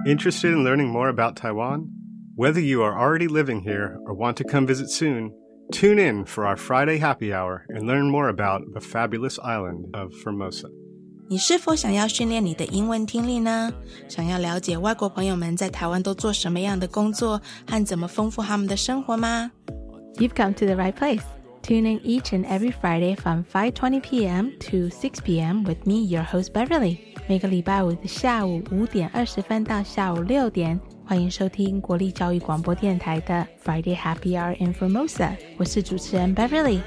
Interested in learning more about Taiwan? Whether you are already living here or want to come visit soon, tune in for our Friday happy hour and learn more about the fabulous island of Formosa. 你是否想要训练你的英文听力呢？想要了解外国朋友们在台湾都做什么样的工作和怎么丰富他们的生活吗？ You've come to the right place. Tune in each and every Friday from 5:20 p.m. to 6 p.m. with me, your host Beverly. 每个礼拜五的下午5点20分到下午6点，欢迎收聽國立教育廣播電台的 Friday Happy Hour in Formosa。我是主持人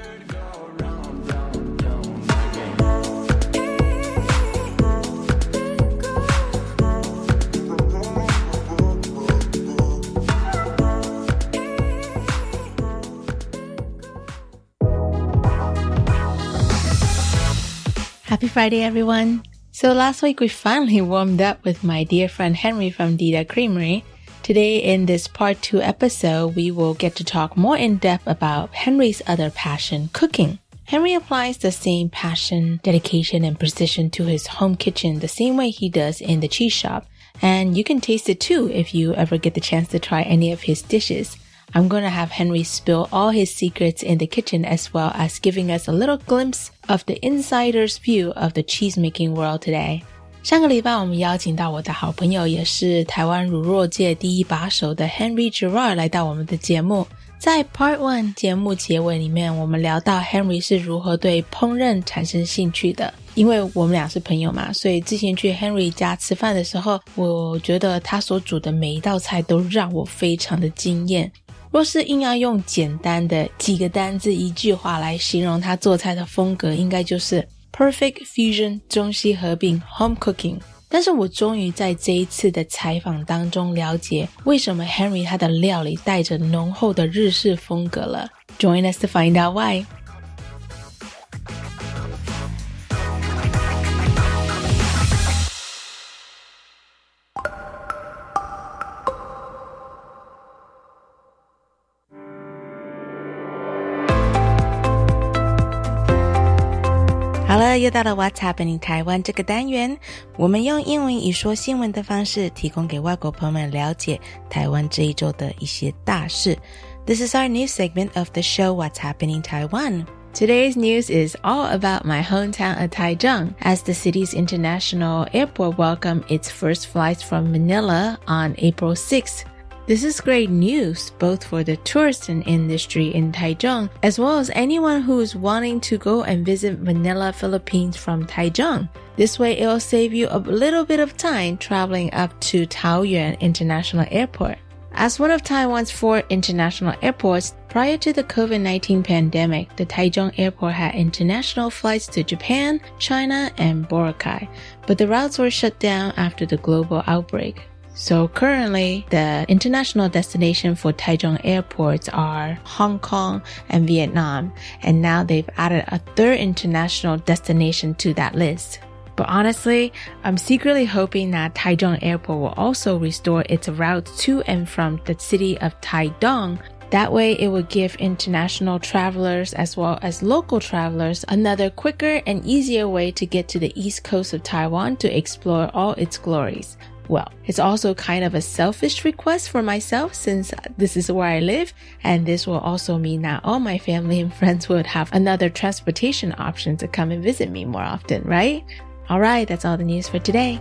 Beverly。Happy Friday, everyone. So last week we finally warmed up with my dear friend Henry from Dita Creamery. Today in this part 2 episode, we will get to talk more in depth about Henry's other passion, cooking. Henry applies the same passion, dedication, and precision to his home kitchen the same way he does in the cheese shop. And you can taste it too if you ever get the chance to try any of his dishes. I'm going to have Henry spill all his secrets in the kitchen as well as giving us a little glimpse of the insider's view of the cheese-making world today. 上个礼拜我们邀请到我的好朋友也是台湾乳酪界第一把手的 Henry Gerard 来到我们的节目。在 Part 1 节目结尾里面，我们聊到 Henry 是如何对烹饪产生兴趣的。因为我们俩是朋友嘛，所以之前去 Henry 家吃饭的时候，我觉得他所煮的每一道菜都让我非常的惊艳。若是硬要用简单的几个单字一句话来形容他做菜的风格，应该就是 Perfect Fusion 中西合并 Home Cooking。 但是我终于在这一次的采访当中了解为什么 Henry 他的料理带着浓厚的日式风格了。 Join us to find out why。好了，又到了 What's Happening 台湾这个单元，我们用英文以说新闻的方式提供给外国朋友们了解台湾这一周的一些大事。 This is our news segment of the show What's Happening Taiwan. Today's news is all about my hometown of Taichung, as the city's international airport welcomed its first flights from Manila on April 6th. This is great news, both for the tourism industry in Taichung, as well as anyone who is wanting to go and visit Manila, Philippines from Taichung. This way, it will save you a little bit of time traveling up to Taoyuan International Airport. As one of Taiwan's 4 international airports, prior to the COVID-19 pandemic, the Taichung Airport had international flights to Japan, China, and Boracay, but the routes were shut down after the global outbreak. So currently, the international destination for Taichung airports are Hong Kong and Vietnam, and now they've added a 3rd international destination to that list. But honestly, I'm secretly hoping that Taichung Airport will also restore its routes to and from the city of Taidong. That way, it will give international travelers as well as local travelers another quicker and easier way to get to the east coast of Taiwan to explore all its glories. Well, it's also kind of a selfish request for myself since this is where I live, and this will also mean that all my family and friends would have another transportation option to come and visit me more often, right? Alright, that's all the news for today.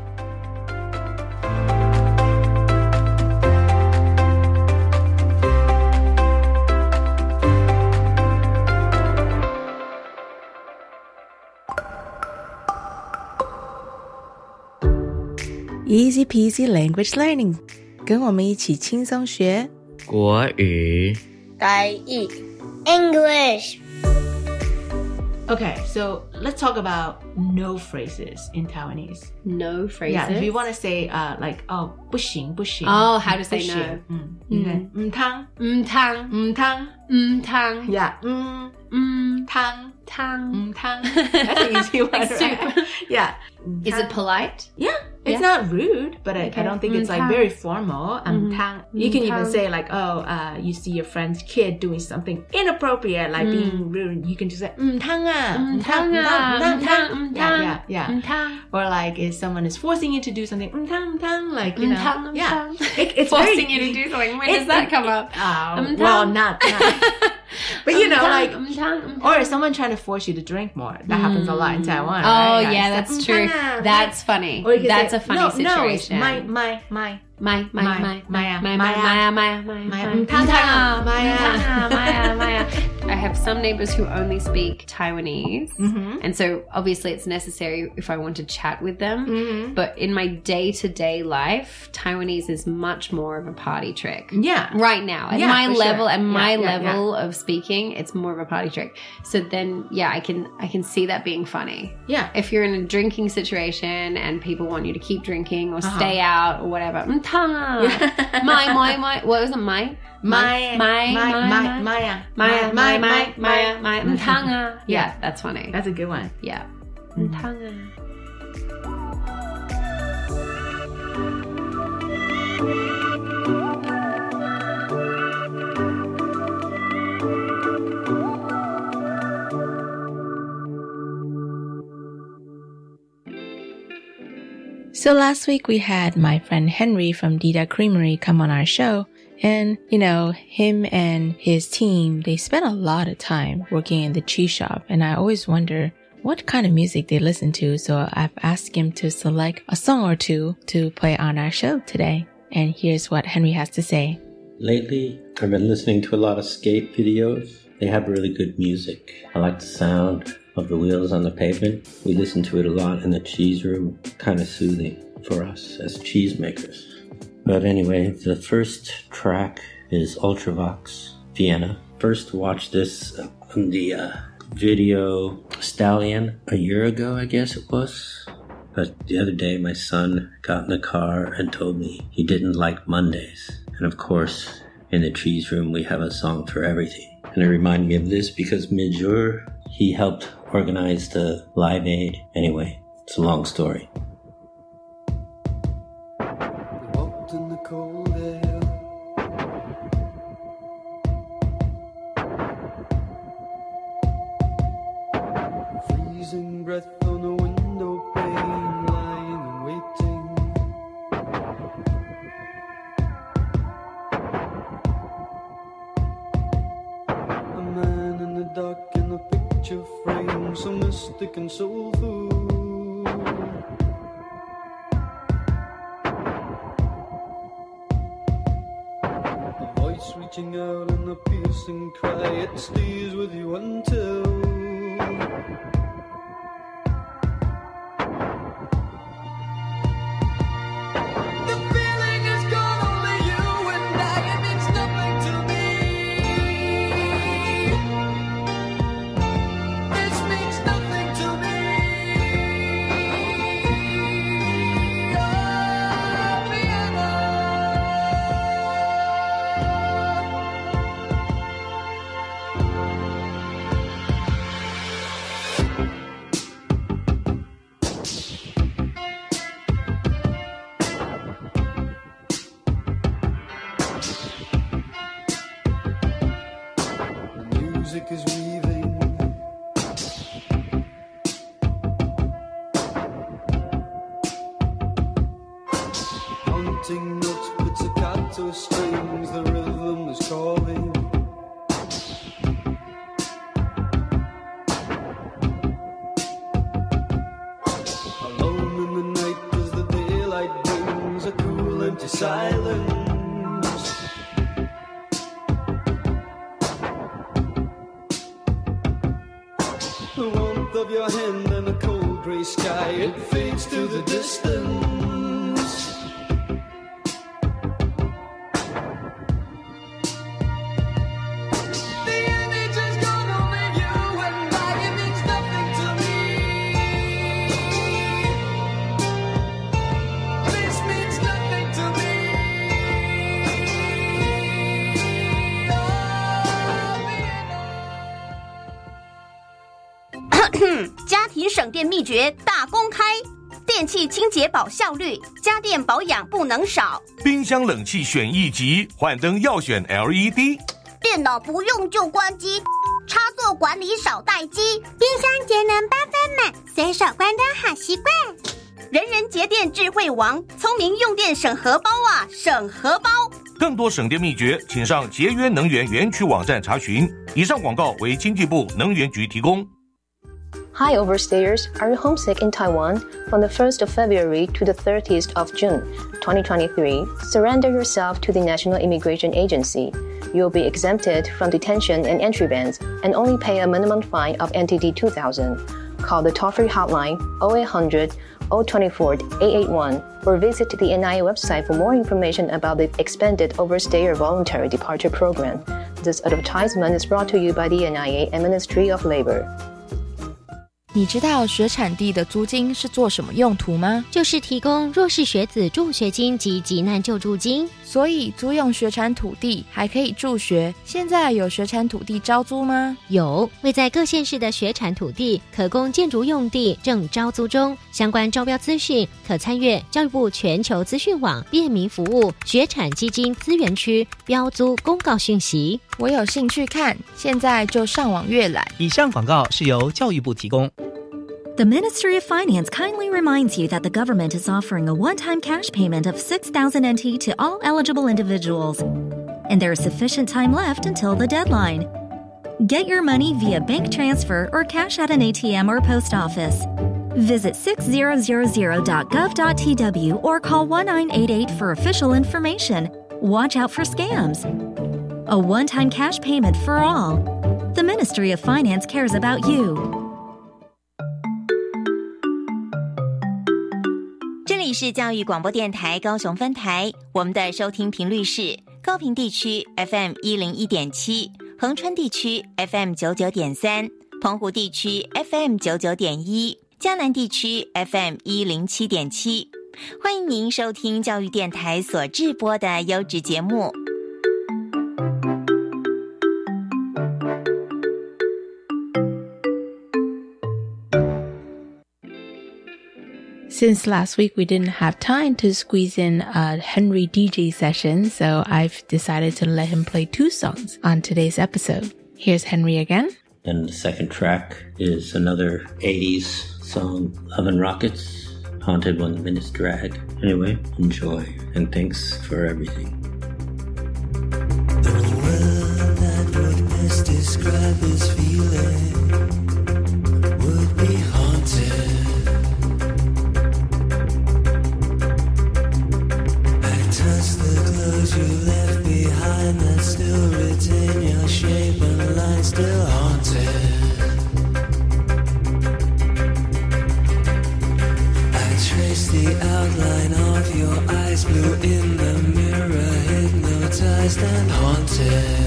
Easy peasy language learning. 跟我们一起轻松学国语台语 English. Okay, so let's talk about no phrases in Taiwanese. No phrases? Yeah, if you want to say like, oh, 不行, 不行. Oh, how to say 不行. no. 唔汤. 唔汤. 唔汤. 唔汤. Yeah. 唔汤. 唔汤. That's an easy one, Like right? soup. Yeah. Is it polite? Yeah. It's not rude, but I don't think it's like very formal. You can even say like, you see your friend's kid doing something inappropriate, like being rude. You can just say, yeah. Or like if someone is forcing you to do something, like, you know, it's forcing you to do something. When does that come up? Well, not. But you know, like, or if someone trying to force you to drink more. That happens a lot in Taiwan. Oh, right? yeah, that's true. That's funny. That's a funny situation. No, it's my. I have some neighbors who only speak Taiwanese, and so obviously it's necessary if I want to chat with them. But in my day-to-day life, Taiwanese is much more of a party trick. Yeah, right now at my level, level of speaking, it's more of a party trick. So then, I can see that being funny. Yeah, if you're in a drinking situation and people want you to keep drinking or stay out or whatever. My. What was it? My. Yeah, that's funny. That's a good one. Yeah. So last week we had my friend Henry from Dida Creamery come on our show. And, you know, him and his team, they spend a lot of time working in the cheese shop. And I always wonder what kind of music they listen to. So I've asked him to select a song or two to play on our show today. And here's what Henry has to say. Lately, I've been listening to a lot of skate videos. They have really good music. I like the sound of the wheels on the pavement. We listen to it a lot in the cheese room. Kind of soothing for us as cheesemakers. But anyway, the first track is Ultravox, Vienna. First watched this on the video Stallion a year ago, I guess it was. But the other day, my son got in the car and told me he didn't like Mondays. And of course, in the cheese room, we have a song for everything. And it reminded me of this because mid-jour, he helped organize the Live Aid. Anyway, it's a long story. Breath on the window pane, lying and waiting. A man in the dark in a picture frame, so mystic and soulful. A voice reaching out in a piercing cry, it stays with you until music is weaving. Haunting notes, pizzicato strings, the rhythm is calling. Alone in the night as the daylight brings a cool empty silence. The warmth of your hand and a cold grey sky, it fades to the distance. The image has gone over you and I, it means nothing to me. This means nothing to me. Oh, 家庭省电秘诀大公开， 电器清洁保效率，家电保养不能少。 冰箱冷气选1级，换灯要选 LED。 电脑不用就关机，插座管理少待机。冰箱节能8分满，随手关灯好习惯。 人人节电智慧王，聪明用电省荷包啊，省荷包。 更多省电秘诀，请上节约能源园区网站查询。以上广告为经济部能源局提供。 Hi overstayers, are you homesick in Taiwan? From the 1st of February to the 30th of June, 2023, surrender yourself to the National Immigration Agency. You will be exempted from detention and entry bans and only pay a minimum fine of NTD 2,000. Call the toll-free hotline 0800 024 881 or visit the NIA website for more information about the expanded Overstayer Voluntary Departure Program. This advertisement is brought to you by the NIA and Ministry of Labor. 你知道学产地的租金是做什么用途吗？ 就是提供弱势学子助学金及急难救助金。 所以租用学产土地还可以助学。现在有学产土地招租吗？ 有，位在各县市的学产土地可供建筑用地正招租中，相关招标资讯可参阅教育部全球资讯网便民服务学产基金资源区标租公告讯息。 我有兴趣看，现在就上网阅览。 以上广告是由教育部提供。 The Ministry of Finance kindly reminds you that the government is offering a one-time cash payment of 6,000 NT to all eligible individuals, and there is sufficient time left until the deadline. Get your money via bank transfer or cash at an ATM or post office. Visit 6000.gov.tw or call 1988 for official information. Watch out for scams. A one-time cash payment for all. The Ministry of Finance cares about you. 这里是教育广播电台高雄分台，我们的收听频率是高屏地区 FM 101.7，恒春地区 FM 99.3，澎湖地区 FM 99.1，嘉南地区 FM 107.7。欢迎您收听教育电台所制播的优质节目。 Since last week we didn't have time to squeeze in a Henry DJ session, so I've decided to let him play 2 songs on today's episode. Here's Henry again. And the second track is another 80s song, Love and Rockets, Haunted When the Minutes Drag. Anyway, enjoy, and thanks for everything. The word that would best describe his feeling would be haunted. You left behind that still retain your shape and line, still haunted. I trace the outline of your eyes, blue in the mirror, hypnotized and haunted.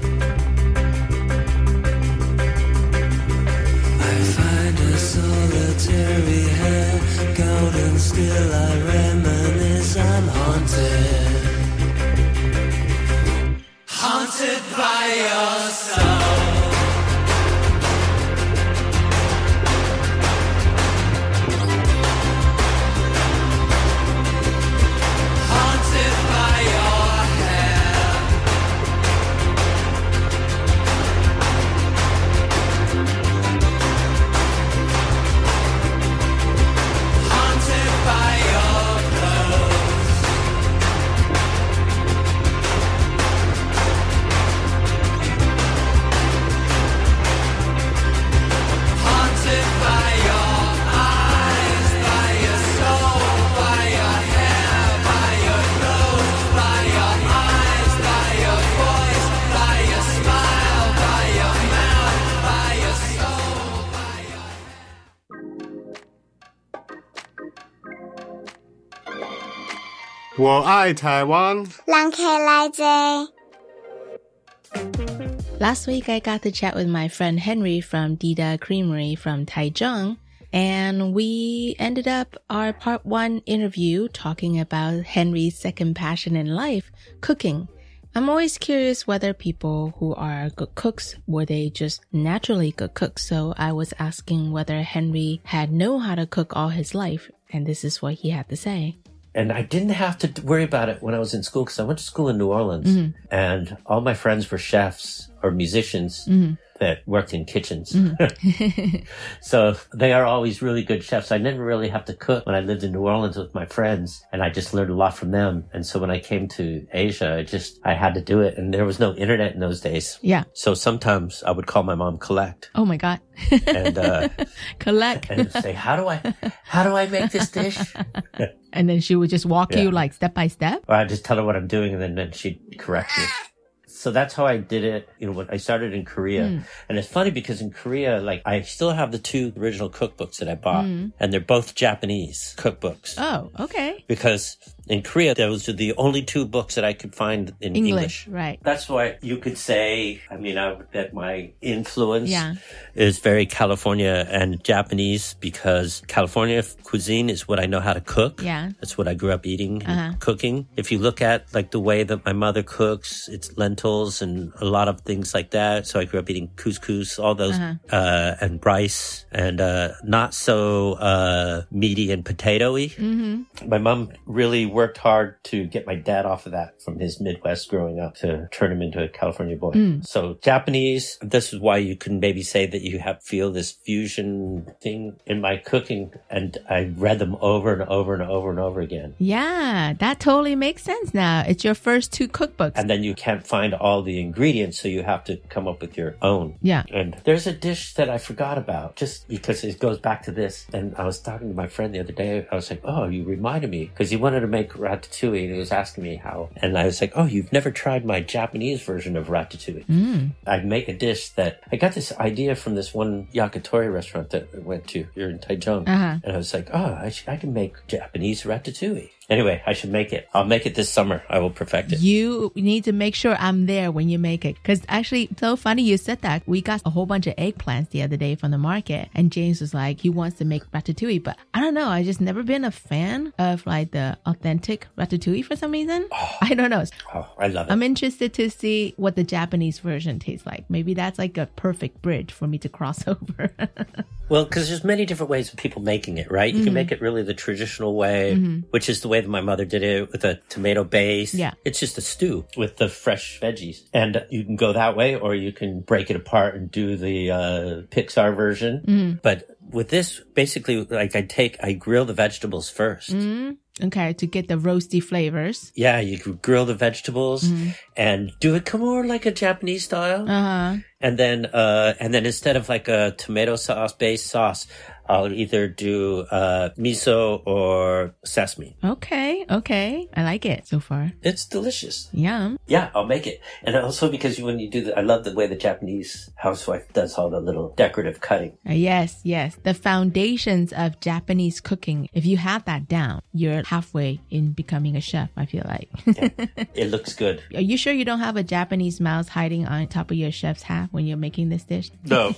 I find a solitary hair gold and still I reminisce, I'm haunted.Haunted by your soul. Haunted by your hair. Haunted by your clothes. 我爱台湾人客来坐 Last week I got to chat with my friend Henry from Dida Creamery from Taichung, and we ended up our part 1 interview talking about Henry's second passion in life, cooking. I'm always curious whether people who are good cooks, were they just naturally good cooks? So I was asking whether Henry had known how to cook all his life. And this is what he had to say. And I didn't have to worry about it when I was in school because I went to school in New Orleans and all my friends were chefs or musicians that worked in kitchens. So they are always really good chefs. I didn't really have to cook when I lived in New Orleans with my friends, and I just learned a lot from them. And so when I came to Asia, I had to do it. And there was no internet in those days. Yeah. So sometimes I would call my mom Collect. Oh my God. And Collect. And say, how do I make this dish? And then she would just walk you like step by step? Or I'd just tell her what I'm doing and then she'd correct me. So that's how I did it, when I started in Korea. And it's funny because in Korea, I still have the 2 original cookbooks that I bought, and they're both Japanese cookbooks. Oh, okay. Because in Korea, those are the only 2 books that I could find in English. Right. That's why you could say, that my influence is very California and Japanese, because California cuisine is what I know how to cook. Yeah. That's what I grew up eating and cooking. If you look at the way that my mother cooks, it's lentils and a lot of things like that. So I grew up eating couscous, all those, and rice, and not so meaty and potatoy. My mom really worked hard to get my dad off of that from his Midwest growing up to turn him into a California boy. So Japanese, this is why you can maybe say that you feel this fusion thing in my cooking, and I read them over and over and over and over again. Yeah, that totally makes sense now. It's your first 2 cookbooks. And then you can't find all the ingredients, so you have to come up with your own. Yeah. And there's a dish that I forgot about just because it goes back to this. And I was talking to my friend the other day. I was like, oh, you reminded me, because he wanted to make ratatouille and he was asking me how. And I was like, oh, you've never tried my Japanese version of ratatouille. I make a dish that I got this idea from this one yakitori restaurant that I went to here in Taichung. And I was like, oh, I can make Japanese ratatouille. Anyway, I should make it. I'll make it this summer. I will perfect it. You need to make sure I'm there when you make it. Because actually, so funny you said that. We got a whole bunch of eggplants the other day from the market. And James was like, he wants to make ratatouille. But I don't know. I just never been a fan of the authentic ratatouille for some reason. I don't know. Oh, I love it. I'm interested to see what the Japanese version tastes like. Maybe that's a perfect bridge for me to cross over. Well, because there's many different ways of people making it, right? You can make it really the traditional way, which is the way that my mother did it, with a tomato base. Yeah. It's just a stew with the fresh veggies. And you can go that way, or you can break it apart and do the Pixar version. But with this, basically, I grill the vegetables first. Okay, to get the roasty flavors. Yeah, you can grill the vegetables and do it more like a Japanese style. And then instead of a tomato sauce based sauce, I'll either do miso or sesame. Okay. I like it so far. It's delicious. Yum. Yeah, I'll make it. And also because when you do I love the way the Japanese housewife does all the little decorative cutting. Yes. The foundations of Japanese cooking, if you have that down, you're halfway in becoming a chef, I feel like. Yeah, it looks good. Are you sure you don't have a Japanese mouse hiding on top of your chef's hat when you're making this dish? No.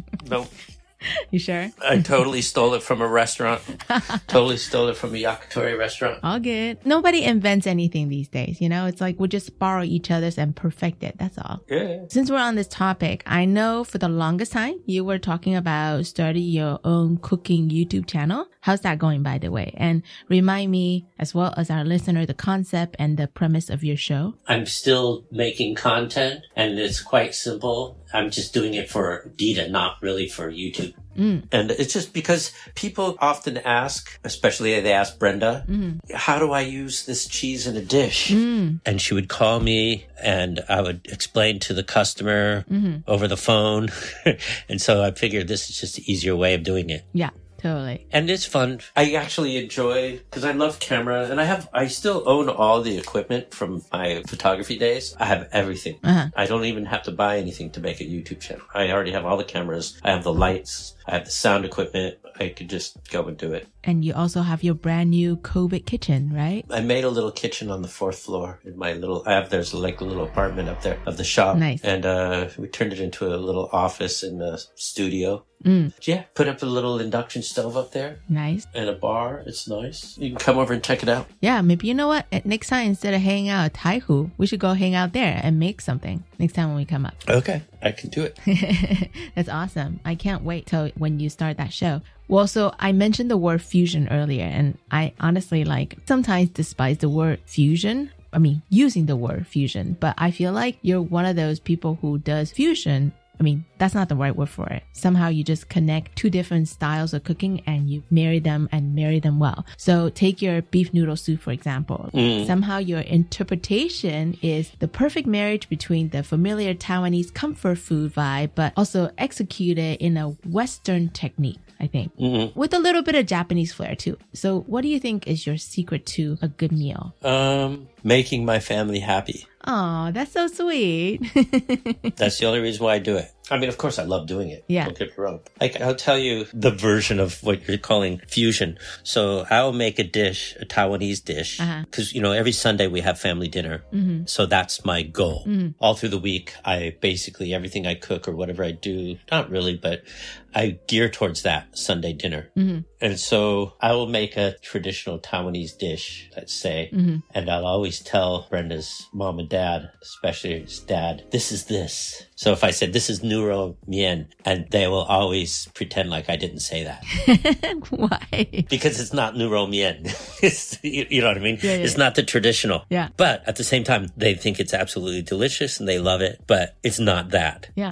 You sure? I totally stole it from a restaurant. Totally stole it from a yakitori restaurant. All good. Nobody invents anything these days, It's we'll just borrow each other's and perfect it. That's all. Yeah. Since we're on this topic, I know for the longest time you were talking about starting your own cooking YouTube channel. How's that going, by the way? And remind me, as well as our listener, the concept and the premise of your show. I'm still making content, and it's quite simple. I'm just doing it for Dita, not really for YouTube. And it's just because people often ask, especially they ask Brenda, how do I use this cheese in a dish? And she would call me and I would explain to the customer over the phone. And so I figured this is just an easier way of doing it. Yeah. Totally. And it's fun. I actually enjoy, because I love camera, and I still own all the equipment from my photography days. I have everything. I don't even have to buy anything to make a YouTube channel. I already have all the cameras. I have the lights. I have the sound equipment. I could just go and do it. And you also have your brand new COVID kitchen, right? I made a little kitchen on the 4th floor in my there's a little apartment up there of the shop. Nice. And we turned it into a little office and a studio. Yeah, put up a little induction stove up there. Nice. And a bar. It's nice. You can come over and check it out. Yeah, maybe you know what? Next time, instead of hanging out at Taihu, we should go hang out there and make something next time when we come up. Okay, I can do it. That's awesome. I can't wait till when you start that show. Well, so I mentioned the word fusion earlier, and I honestly sometimes despise the word fusion. I mean, using the word fusion, but I feel like you're one of those people who does fusion. I mean, that's not the right word for it. Somehow you just connect two different styles of cooking and you marry them and marry them well. So take your beef noodle soup, for example. Somehow your interpretation is the perfect marriage between the familiar Taiwanese comfort food vibe, but also executed in a Western technique, I think, with a little bit of Japanese flair too. So what do you think is your secret to a good meal? Making my family happy. Oh, that's so sweet. That's the only reason why I do it. I mean, of course, I love doing it. Yeah. Don't get me wrong. I'll tell you the version of what you're calling fusion. So I'll make a dish, a Taiwanese dish, because, every Sunday we have family dinner. So that's my goal. All through the week, basically everything I cook or whatever I do, not really, but I gear towards that Sunday dinner. And so I will make a traditional Taiwanese dish, let's say, and I'll always tell Brenda's mom and dad, especially his dad, this is this. So if I said, this is Nuro Mien, and they will always pretend like I didn't say that. Why? Because it's not Nuro Mien. You know what I mean? Yeah. It's not the traditional. Yeah. But at the same time, they think it's absolutely delicious and they love it, but it's not that. Yeah.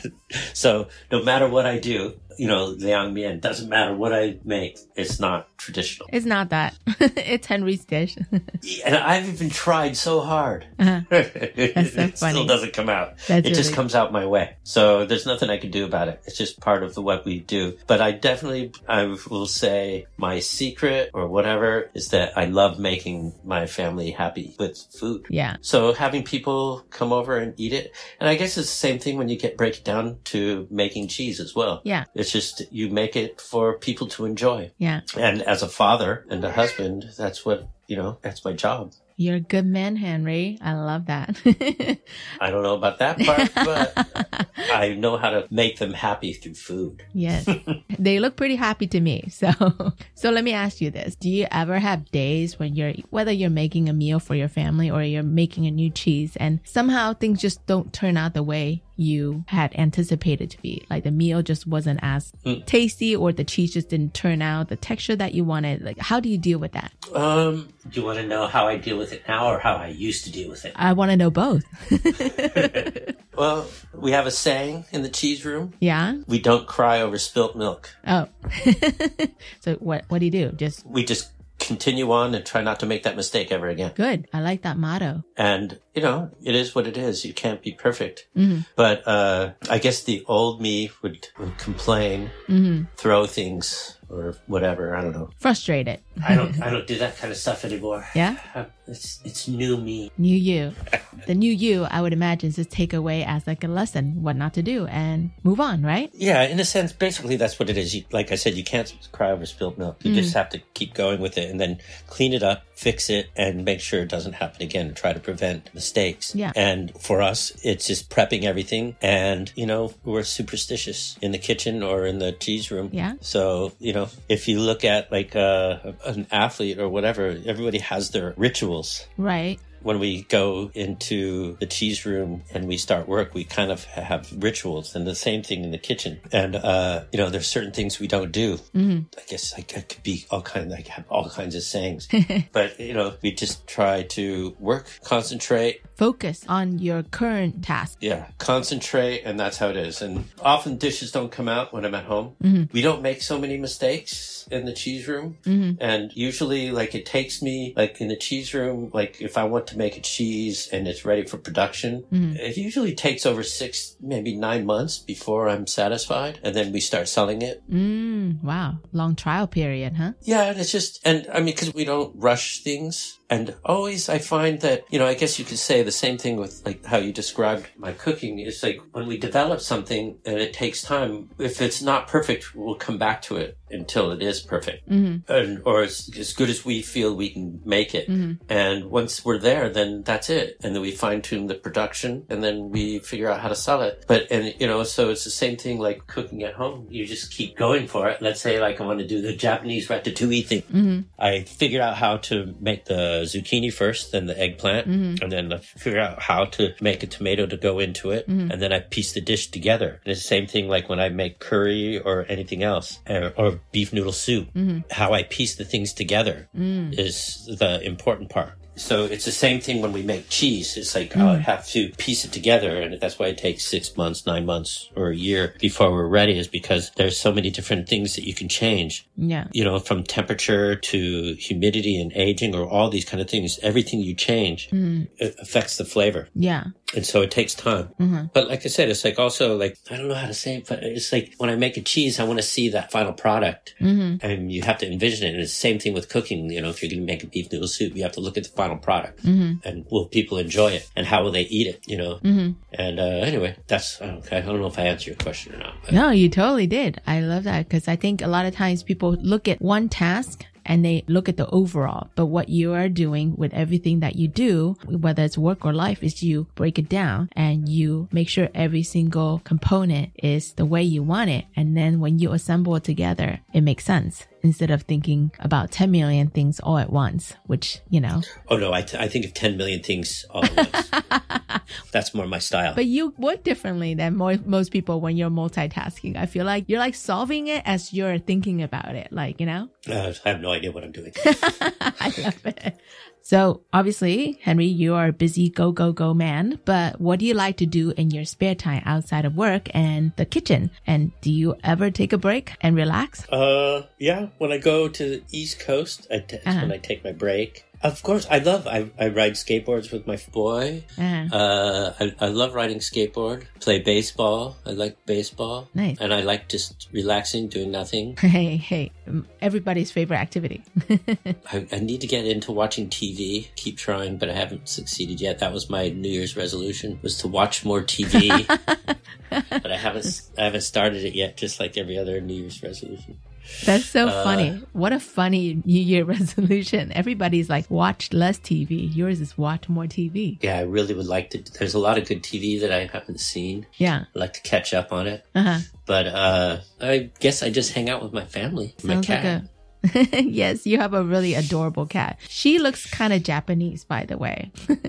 So no matter what I do, Liang Mian, doesn't matter what I make, it's not traditional. It's not that. It's Henry's dish. And I've even tried so hard. That's so It funny. still doesn't come out. That's It just really- comes out my way. So there's nothing I can do about it. It's just part of what we do. But I will say my secret or whatever is that I love making my family happy with food. Yeah. So having people come over and eat it. And I guess it's the same thing when you break it down to making cheese as well. Yeah. It's just you make it for people to enjoy. Yeah. And as a father and a husband, that's what, that's my job. You're a good man, Henry. I love that. I don't know about that part, but I know how to make them happy through food. Yes. They look pretty happy to me. So let me ask you this. Do you ever have days when whether you're making a meal for your family or you're making a new cheese and somehow things just don't turn out the way you had anticipated to be? Like the meal just wasn't as tasty or the cheese just didn't turn out the texture that you wanted. Like, how do you deal with that? Do you want to know how I deal with it now or how I used to deal with it? I want to know both. Well, we have a saying in the cheese room. Yeah? We don't cry over spilt milk. Oh. So what do you do? We just continue on and try not to make that mistake ever again. Good. I like that motto. And, it is what it is. You can't be perfect. But I guess the old me would complain, throw things or whatever. I don't know. Frustrated. I don't do that kind of stuff anymore. Yeah? It's new me. New you. The new you, I would imagine, is just take away as like a lesson what not to do and move on, right? Yeah, in a sense, basically that's what it is. Like I said, you can't cry over spilled milk. You just have to keep going with it and then clean it up, fix it, and make sure it doesn't happen again and try to prevent mistakes. Yeah. And for us, it's just prepping everything. And, we're superstitious in the kitchen or in the cheese room. Yeah. So, if you look at like an athlete or whatever, everybody has their rituals. Right. When we go into the cheese room and we start work, we kind of have rituals, and the same thing in the kitchen. And, there's certain things we don't do. I guess I could be have all kinds of sayings, but, we just try to work, concentrate. Focus on your current task. Yeah, concentrate, and that's how it is. And often dishes don't come out when I'm at home. We don't make so many mistakes in the cheese room. And usually, it takes me, in the cheese room, if I want to make a cheese and it's ready for production, it usually takes over 6, maybe 9 months before I'm satisfied. And then we start selling it. Wow. Long trial period, huh? Yeah, and it's just, because we don't rush things. And always I find that, I guess you could say the same thing with like how you described my cooking. It's like when we develop something and it takes time, if it's not perfect, we'll come back to it until it is perfect. Or as good as we feel we can make it. And once we're there, then that's it. And then we fine tune the production and then we figure out how to sell it. So it's the same thing like cooking at home. You just keep going for it. Let's say like I want to do the Japanese ratatouille thing. I figured out how to make the zucchini first, then the eggplant, and then I figure out how to make a tomato to go into it. And then I piece the dish together. And it's the same thing like when I make curry or anything else, or beef noodle soup. How I piece the things together is the important part. So it's the same thing when we make cheese. It's like I have to piece it together, and that's why it takes 6 months, 9 months, or a year before we're ready, is because there's so many different things that you can change. Yeah. From temperature to humidity and aging, or all these kind of things. Everything you change, it affects the flavor. Yeah. And so it takes time. But like I said, it's like also like, I don't know how to say it, but it's like when I make a cheese, I want to see that final product. And you have to envision it. And it's the same thing with cooking. If you're going to make a beef noodle soup, you have to look at the final product. And will people enjoy it? And how will they eat it? And anyway, that's okay. I don't know if I answered your question or not. But. No, you totally did. I love that because I think a lot of times people look at one task and they look at the overall. But what you are doing with everything that you do, whether it's work or life, is you break it down and you make sure every single component is the way you want it. And then when you assemble it together, it makes sense. Instead of thinking about 10 million things all at once, which, Oh, no, I think of 10 million things all at once. That's more my style. But you work differently than most people when you're multitasking. I feel like you're like solving it as you're thinking about it. Like, I have no idea what I'm doing. I love it. So obviously, Henry, you are a busy go man, but what do you like to do in your spare time outside of work and the kitchen? And do you ever take a break and relax? Yeah. When I go to the East Coast, that's when I take my break. Of course, I ride skateboards with my boy. I love riding skateboard, play baseball. I like baseball. Nice. And I like just relaxing, doing nothing. Hey, everybody's favorite activity. I need to get into watching TV, keep trying, but I haven't succeeded yet. That was my New Year's resolution, was to watch more TV. But I haven't started it yet, just like every other New Year's resolution. That's so funny. What a funny New Year resolution. Everybody's like, watch less TV. Yours is watch more TV. Yeah, I really would like to. There's a lot of good TV that I haven't seen. Yeah. I'd like to catch up on it. But I guess I just hang out with my family. Sounds my cat. Yes, you have a really adorable cat. She looks kind of Japanese, by the way.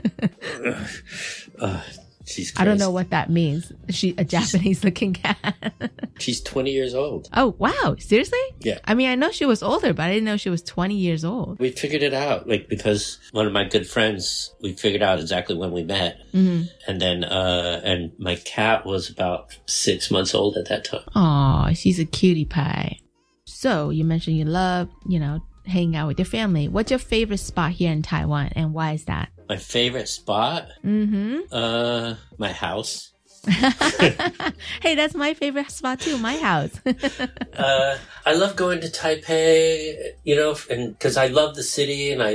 She's crazy. I don't know what that means. A Japanese looking cat. She's 20 years old. Oh, wow. Seriously? Yeah. I mean, I know she was older, but I didn't know she was 20 years old. We figured it out, because one of my good friends, we figured out exactly when we met. And then, and my cat was about 6 months old at that time. Aw, she's a cutie pie. So you mentioned you love, hanging out with your family. What's your favorite spot here in Taiwan, and why is that? My favorite spot? My house. Hey, that's my favorite spot too, my house. I love going to Taipei, and because I love the city, and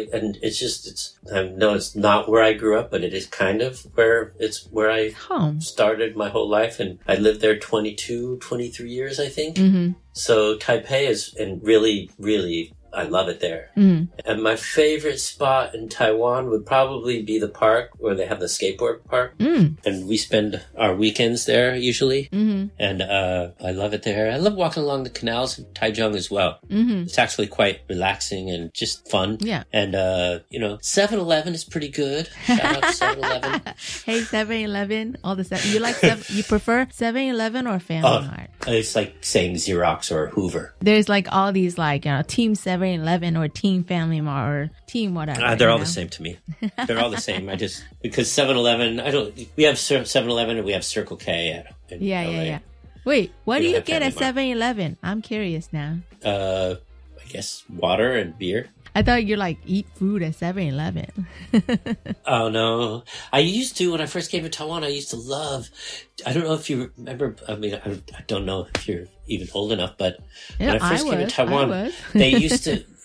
I know it's not where I grew up, but it is kind of where I started my whole life, and I lived there 23 years, I think. So Taipei is, and really, really, I love it there. And my favorite spot in Taiwan would probably be the park where they have the skateboard park. And we spend our weekends there usually. And I love it there. I love walking along the canals in Taichung as well. It's actually quite relaxing and just fun. Yeah. And, 7-Eleven is pretty good. Shout out to 7-Eleven. Hey, 7-Eleven, all the stuff. You prefer 7-Eleven or Family Mart? It's like saying Xerox or Hoover. There's like all these Team 7-Eleven or Team Family Mart or Team whatever. They're all the same to me. They're all the same. Because 7-Eleven, we have 7-Eleven and we have Circle K in LA. Wait, what do you get at 7-Eleven? I'm curious now. I guess water and beer. I thought you eat food at 7-Eleven. Oh, no. I used to, when I first came to Taiwan, I used to love, I don't know if you remember, I don't know if you're even old enough, but when I first came to Taiwan, they used to,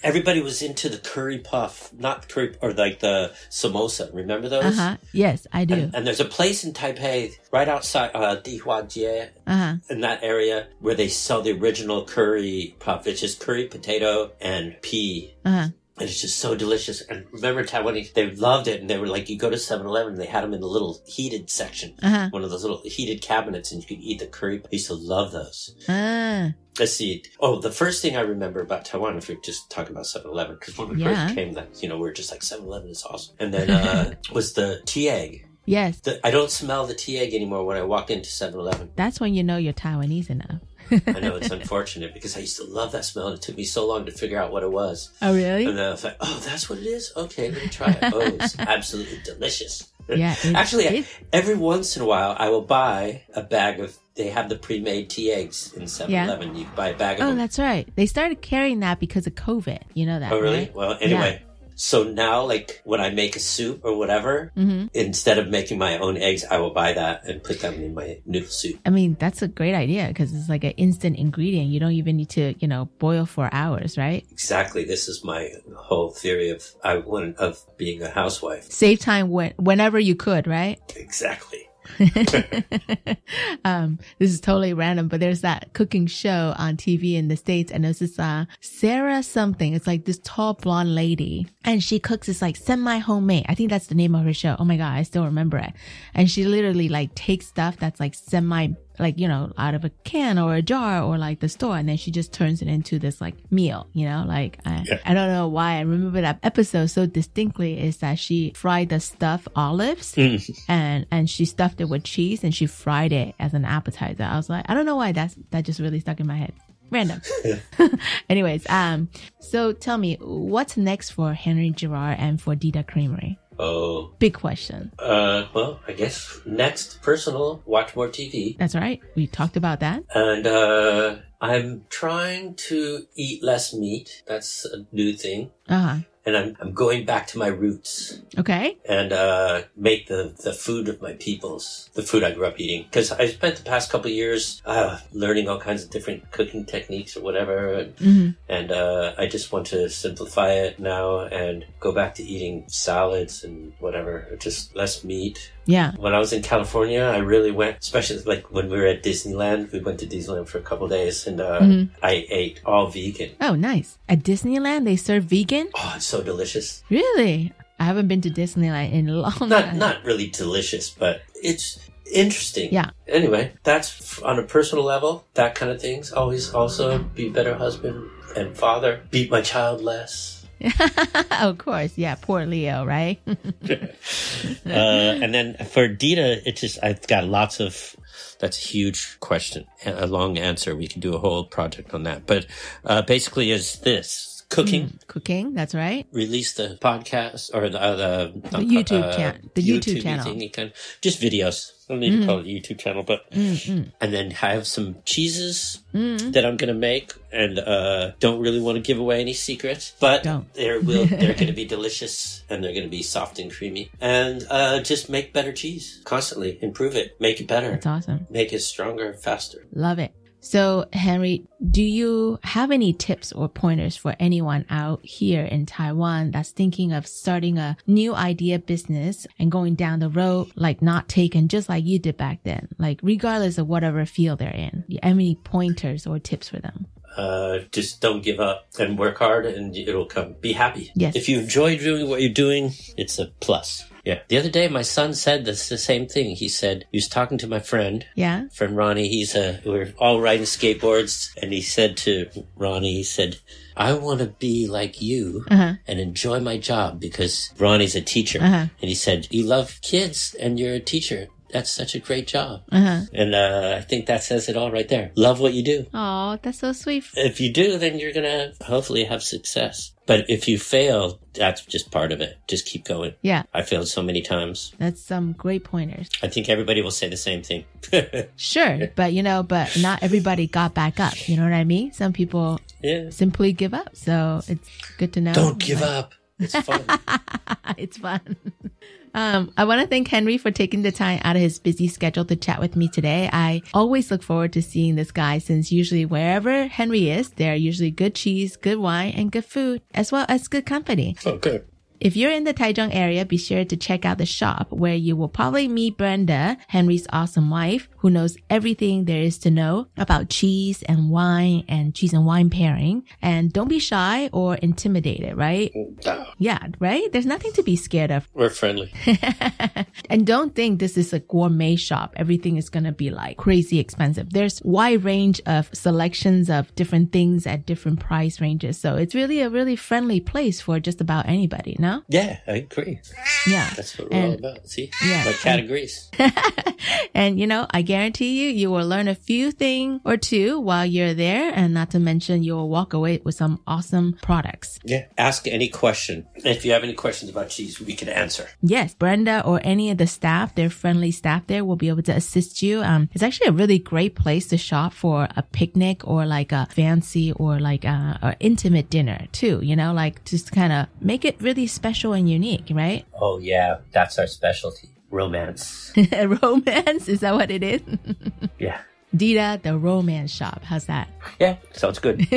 everybody was into the curry puff, not curry, or like the samosa. Remember those? Yes, I do. And there's a place in Taipei right outside Dihuajie in that area where they sell the original curry puff. It's just curry, potato, and pea. And it's just so delicious. And remember, Taiwanese, they loved it. And they were like, you go to 7-Eleven, they had them in the little heated section. One of those little heated cabinets, and you could eat the curry. I used to love those. Let's see. Oh, the first thing I remember about Taiwan, if you're just talking about 7-Eleven, because when we first came, that we were just like, 7-Eleven is awesome. And then was the tea egg. Yes. I don't smell the tea egg anymore when I walk into 7-Eleven. That's when you know you're Taiwanese enough. I know, it's unfortunate because I used to love that smell, and it took me so long to figure out what it was. Oh, really? And then I was like, oh, that's what it is? Okay, let me try it. Oh, it's absolutely delicious. Yeah. Actually, every once in a while, I will buy a bag of, they have the pre-made tea eggs in 7-Eleven. You buy a bag of them. Oh, that's right. They started carrying that because of COVID. You know that, Oh, really? Right? Well, anyway. So now, like, when I make a soup or whatever, instead of making my own eggs, I will buy that and put them in my noodle soup. I mean, that's a great idea because it's like an instant ingredient. You don't even need to, boil for hours, right? Exactly. This is my whole theory of being a housewife. Save time whenever you could, right? Exactly. This is totally random, but there's that cooking show on TV in the States, and there's this Sarah something. It's like this tall blonde lady, and she cooks this like semi-homemade. I think that's the name of her show. Oh my God, I still remember it. And she literally like takes stuff that's like out of a can or a jar or like the store, and then she just turns it into this like meal, I don't know why I remember that episode so distinctly, is that she fried the stuffed olives and she stuffed it with cheese and she fried it as an appetizer. I was like, I don't know why that just really stuck in my head. Random. Anyways, so tell me, what's next for Henry Girard and for Dita Creamery? Oh. Big question. Well, I guess next, personal, watch more TV. That's right. We talked about that. And I'm trying to eat less meat. That's a new thing. And I'm going back to my roots. Okay. And make the food of my peoples, the food I grew up eating. Because I spent the past couple of years learning all kinds of different cooking techniques or whatever. And I just want to simplify it now and go back to eating salads and whatever, just less meat. Yeah. When I was in California, I really went, especially like when we were at Disneyland. We went to Disneyland for a couple of days, and I ate all vegan. Oh, nice. At Disneyland, they serve vegan? Oh, it's so delicious. Really? I haven't been to Disneyland in a long time. Not really delicious, but it's interesting. Yeah. Anyway, that's on a personal level, that kind of things. Always also be a better husband and father. Beat my child less. Of course. Yeah. Poor Leo, right? And then for Dita, I've got lots of, that's a huge question, a long answer. We can do a whole project on that. But basically is this. Cooking, that's right. Release the podcast or the YouTube channel. The YouTube channel. Thingy, just videos. I don't need to call it a YouTube channel, but and then have some cheeses that I'm going to make, and don't really want to give away any secrets, but they're going to be delicious, and they're going to be soft and creamy, and just make better cheese constantly, improve it, make it better. That's awesome. Make it stronger, faster. Love it. So, Henry, do you have any tips or pointers for anyone out here in Taiwan that's thinking of starting a new idea business and going down the road, like not taken, just like you did back then, like regardless of whatever field they're in? Do you have any pointers or tips for them? Just don't give up and work hard, and it'll come. Be happy. Yes. If you enjoy doing what you're doing, it's a plus. Yeah. The other day, my son said the same thing. He said, he was talking to my friend. Yeah. Friend Ronnie. We're all riding skateboards. And he said to Ronnie, I want to be like you and enjoy my job, because Ronnie's a teacher. And he said, you love kids and you're a teacher. That's such a great job. And I think that says it all right there. Love what you do. Oh, that's so sweet. If you do, then you're going to hopefully have success. But if you fail, that's just part of it. Just keep going. Yeah. I failed so many times. That's some great pointers. I think everybody will say the same thing. Sure. But, but not everybody got back up. You know what I mean? Some people simply give up. So it's good to know. Don't give up. It's fun. It's fun. I want to thank Henry for taking the time out of his busy schedule to chat with me today. I always look forward to seeing this guy since usually wherever Henry is, there are usually good cheese, good wine, and good food, as well as good company. Okay. If you're in the Taichung area, be sure to check out the shop where you will probably meet Brenda, Henry's awesome wife, who knows everything there is to know about cheese and wine and cheese and wine pairing. And don't be shy or intimidated, right? No. Yeah, right? There's nothing to be scared of. We're friendly. And don't think this is a gourmet shop. Everything is going to be like crazy expensive. There's wide range of selections of different things at different price ranges. So it's really a really friendly place for just about anybody, no? Yeah, I agree. Yeah. That's what we're all about. See? Yeah. My categories. And, you know, I guarantee you will learn a few thing or two while you're there. And not to mention, you will walk away with some awesome products. Yeah. Ask any question. If you have any questions about cheese, we can answer. Yes. Brenda or any of the staff, their friendly staff there will be able to assist you. It's actually a really great place to shop for a picnic or like a fancy or like a intimate dinner too, you know, like just kind of make it really special and unique, right? Oh, yeah. That's our specialty. Romance. Romance? Is that what it is? Yeah. Dita, the romance shop. How's that? Yeah, sounds good.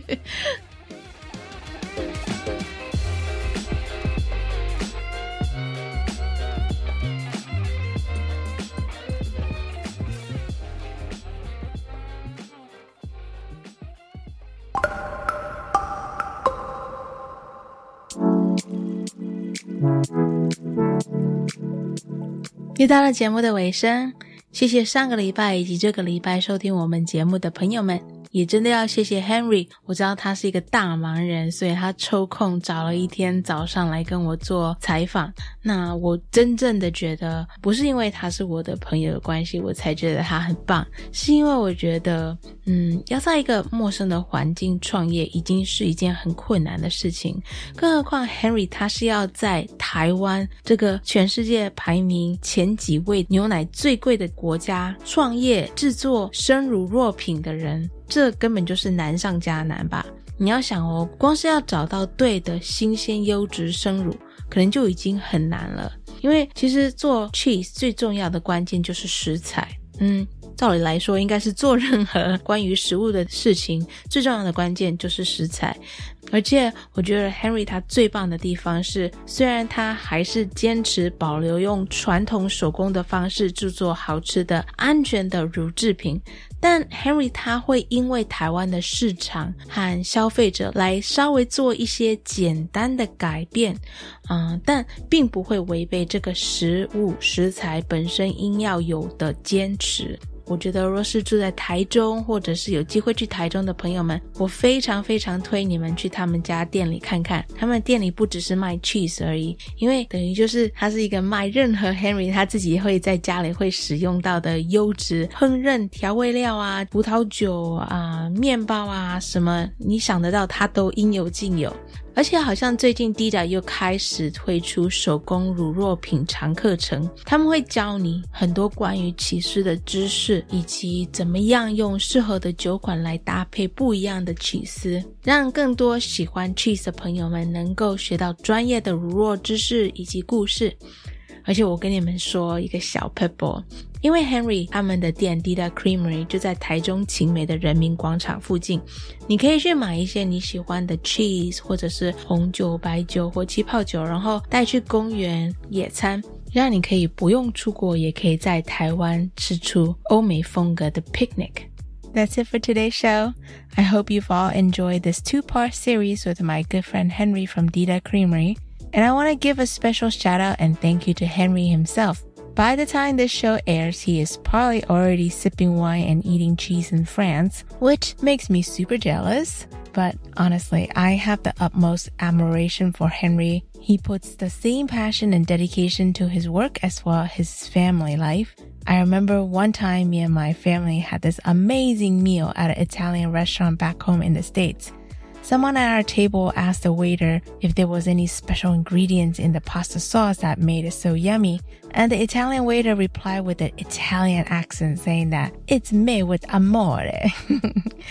又到了节目的尾声，谢谢上个礼拜以及这个礼拜收听我们节目的朋友们，也真的要谢谢 Henry， 我知道他是一个大忙人，所以他抽空找了一天早上来跟我做采访。那我真正的觉得不是因为他是我的朋友的关系我才觉得他很棒，是因为我觉得要在一个陌生的环境创业已经是一件很困难的事情，更何况 Henry 他是要在台湾这个全世界排名前几位牛奶最贵的国家创业制作生乳酪品的人，这根本就是难上加难吧。你要想哦，光是要找到对的新鲜优质生乳可能就已经很难了，因为其实做 cheese 最重要的关键就是食材。照理来说应该是做任何关于食物的事情最重要的关键就是食材，而且我觉得 Henry 他最棒的地方是，虽然他还是坚持保留用传统手工的方式制作好吃的安全的乳制品，但 Henry 他会因为台湾的市场和消费者来稍微做一些简单的改变，但并不会违背这个食材本身应要有的坚持。我觉得若是住在台中或者是有机会去台中的朋友们，我非常非常推你们去他们家店里看看，他们店里不只是卖 cheese 而已，因为等于就是它是一个卖任何 Henry 他自己会在家里会使用到的优质烹饪调味料啊、葡萄酒啊、面包啊，什么你想得到它都应有尽有。而且好像最近 Dita 又开始推出手工乳酪品尝课程，他们会教你很多关于起司的知识，以及怎么样用适合的酒款来搭配不一样的起司，让更多喜欢 cheese 的朋友们能够学到专业的乳酪知识以及故事。而且我跟你们说一个小 pebble， 因为 Henry 他们的店 Dita Creamery 就在台中勤美的人民广场附近，你可以去买一些你喜欢的 cheese 或者是红酒、白酒或气泡酒，然后带去公园野餐，让你可以不用出国也可以在台湾吃出欧美风格的 picnic。That's it for today's show. I hope you've all enjoyed this 2-part series with my good friend Henry from Dita Creamery. And I want to give a special shout out and thank you to Henry himself. By the time this show airs, he is probably already sipping wine and eating cheese in France, which makes me super jealous. But honestly, I have the utmost admiration for Henry. He puts the same passion and dedication to his work as well as his family life. I remember one time me and my family had this amazing meal at an Italian restaurant back home in the States. Someone at our table asked the waiter if there was any special ingredients in the pasta sauce that made it so yummy, and the Italian waiter replied with an Italian accent saying that it's made with amore.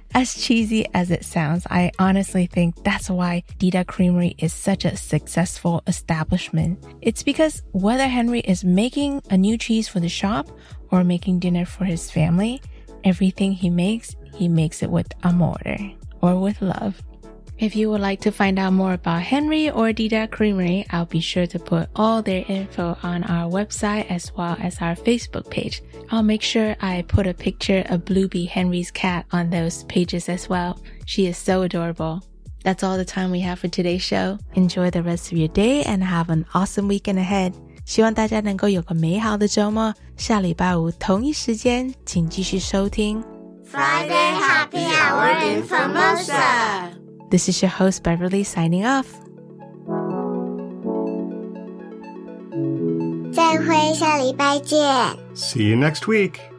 As cheesy as it sounds, I honestly think that's why Dida Creamery is such a successful establishment. It's because whether Henry is making a new cheese for the shop or making dinner for his family, everything he makes it with amore, or with love. If you would like to find out more about Henry or Dida Creamery, I'll be sure to put all their info on our website as well as our Facebook page. I'll make sure I put a picture of Bluebee, Henry's cat, on those pages as well. She is so adorable. That's all the time we have for today's show. Enjoy the rest of your day and have an awesome weekend ahead. 希望大家能够有个美好的周末。下礼拜五同一时间，请继续收听 Friday Happy Hour in Formosa。This is your host Beverly signing off. 再会，下礼拜见。 See you next week.